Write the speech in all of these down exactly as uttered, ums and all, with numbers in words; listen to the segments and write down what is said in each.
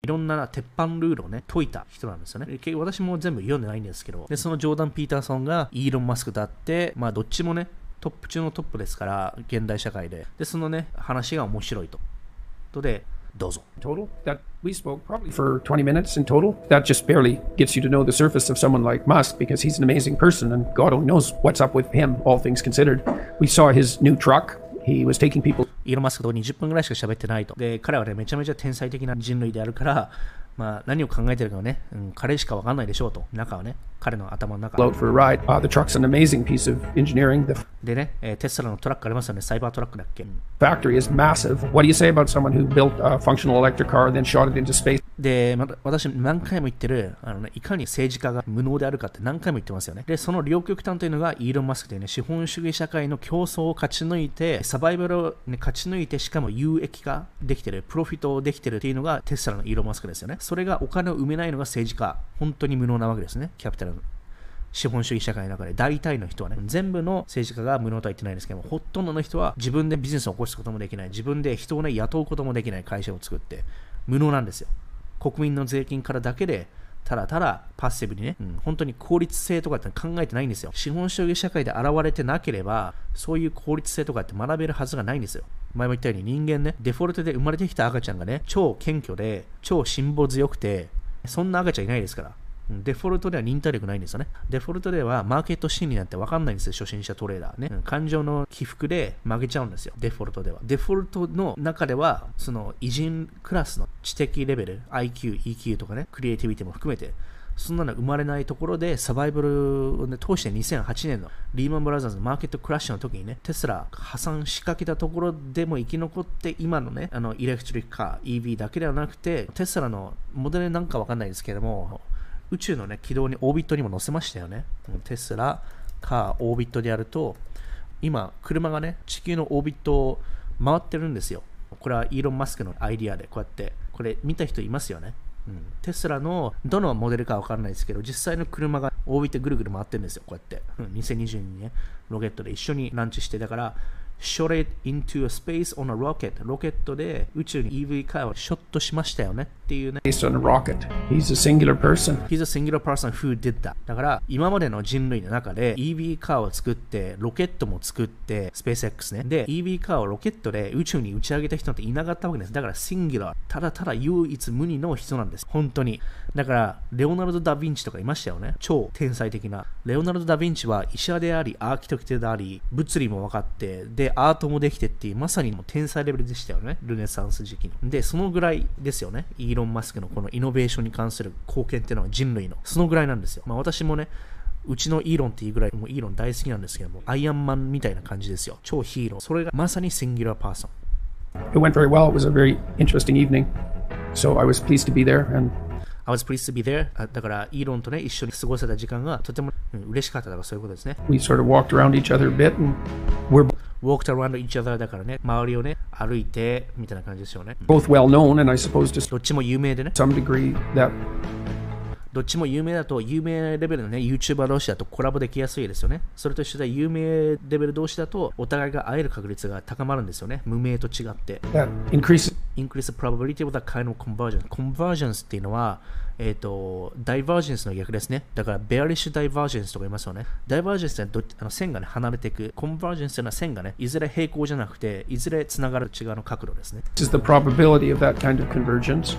いろんな鉄板ルールをね、解いた人なんですよね。結局私も全部読んでないんですけど、で、そのジョーダン・ピーターソンがイーロン・マスクだって、まあどっちもね、トップ中のトップですから、現代社会で。で、そのね、話が面白いと。とで、どうぞ。 Total that we spoke probably for twenty minutes in total. That just barely gets you to know the surface of someone like Musk because he's an amazing person and God only knows what's up with him, all things considered. We saw his new truck. He was taking people. イーロン・マスクとにじゅっぷんぐらいしか喋ってないと。で、彼はね、めちゃめちゃ天才的な人類であるから、まあ、何を考えてるかはね、うん、彼しか分かんないでしょうと。中はね、彼の頭の中。 Out for a ride. Uh, the truck's an amazing piece of engineering. The でね、えー、テスラのトラックありますよね、サイバートラックだっけ。 factory is massive. What do you say about someone who built a functional electric car and then shot it into space? で、ま、私何回も言ってる、あのね、いかに政治家が無能であるかって何回も言ってますよね。で、その両極端というのがイーロン・マスクでね、資本主義社会の競争を勝ち抜いて、サバイバルを、ね、勝ち抜いて、しかも有益化できてる、プロフィットをできてるっていうのがテスラのイーロン・マスクですよね。それがお金を生めないのが政治家。本当に無能なわけですね。キャピタルの。資本主義社会の中で大体の人はね、全部の政治家が無能とは言ってないんですけども、ほとんどの人は自分でビジネスを起こすこともできない、自分で人をね、雇うこともできない会社を作って、無能なんですよ。国民の税金からだけで、ただただパッシブにね、うん、本当に効率性とかって考えてないんですよ。資本主義社会で現れてなければ、そういう効率性とかって学べるはずがないんですよ。前も言ったように人間ね、デフォルトで生まれてきた赤ちゃんがね、超謙虚で、超辛抱強くて、そんな赤ちゃんいないですから。デフォルトでは忍耐力ないんですよね。デフォルトではマーケット心理なんて分かんないんですよ、初心者トレーダーね。感情の起伏で負けちゃうんですよ、デフォルトでは。デフォルトの中では、その偉人クラスの知的レベル、アイキュー、イーキューとかね、クリエイティビティも含めて、そんなの生まれないところでサバイバルを、ね、通してにせんはちねんのリーマンブラザーズのマーケットクラッシュの時にね、テスラ破産しかけたところでも生き残って、今のね、あのイレクトリックカー、イーブイ だけではなくて、テスラのモデルなんか分かんないですけども、宇宙のね、軌道にオービットにも乗せましたよね。テスラ、カー、オービットでやると、今、車がね、地球のオービットを回ってるんですよ。これはイーロン・マスクのアイディアで、こうやって、これ見た人いますよね。うん、テスラのどのモデルかわからないですけど、実際の車がオービットぐるぐる回ってるんですよ、こうやって。うん、にせんにじゅうにねんロケットで一緒にランチして、だから、shot it into a space on a rocket ロケットで宇宙に イーブイ カーをショットしましたよねっていうね。 Based on a rocket. He's a singular person. He's a singular person who did that. だから今までの人類の中で イーブイ カーを作ってロケットも作ってスペース X ね。で イーブイ カーをロケットで宇宙に打ち上げた人なんていなかったわけです。だからシンギュラー、ただただ唯一無二の人なんです。本当に。だからレオナルド・ダ・ヴィンチとかいましたよね。超天才的な。レオナルド・ダ・ヴィンチは医者であり、アーキテクトであり、物理も分かって、でアートもできてっていうまさにもう天才レベルでしたよね。ルネサンス時期の。でそのぐらいですよね。イーロン・マスクのこのイノベーションに関する貢献っていうのは人類のそのぐらいなんですよ。まあ私もね、うちのイーロンっていうぐらいもうイーロン大好きなんですけども、アイアンマンみたいな感じですよ。超ヒーロー。それがまさにシンギュラーパーソン。 It went very well. It was a very interesting evening. So I was pleased to be there and I was pleased to be there. だからイーロンとね一緒に過ごせた時間がとても、うん、嬉しかった。だからそういうことですね。 We sort of walked around each other a bit and we're walked around each other だからね、周りをね歩いてみたいな感じですよね。 both well known and I suppose to どっちも有名でね。 some degree that どっちも有名だと、有名レベルのね YouTuber 同士だとコラボできやすいですよね。それと一緒で有名レベル同士だとお互いが会える確率が高まるんですよね。無名と違って。 that increases increase the probability of that kind of convergence. Convergence っていうのは、えっ、ー、と、divergence の逆ですね。だから、bearish divergence とか言いますよね。divergence ってどあの線がね、離れていく。convergence というのは線がね、いずれ平行じゃなくて、いずれつながる違うの角度ですね。 This is the probability of that kind of convergence.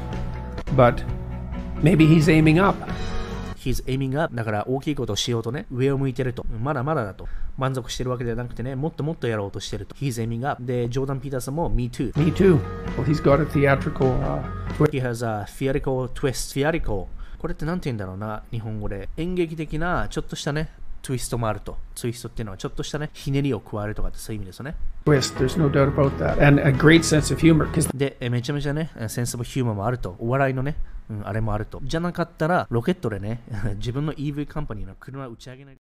But maybe he's aiming up. He's aiming up. だから大きいことをしようとね、上を向いてると。まだまだだと。満足してるわけではなくてね、もっともっとやろうとしてると。He's aiming up. で、ジョーダン・ピーターさんも Me too. Me too. Well, he's got a theatrical uh, twist. He has a theatrical twist. Theatrical. これって何て言うんだろうな、日本語で。演劇的なちょっとしたね、ツイストもあると。ツイストっていうのはちょっとしたね、ひねりを加えるとかってそういう意味ですよね。 Twist. There's no doubt about that. And a great sense of humor. で、めちゃめちゃね、センスオブヒューマンもあると。お笑いのね、うん、あれもあると。じゃなかったら、ロケットでね、自分の イーブイ カンパニーの車を打ち上げない。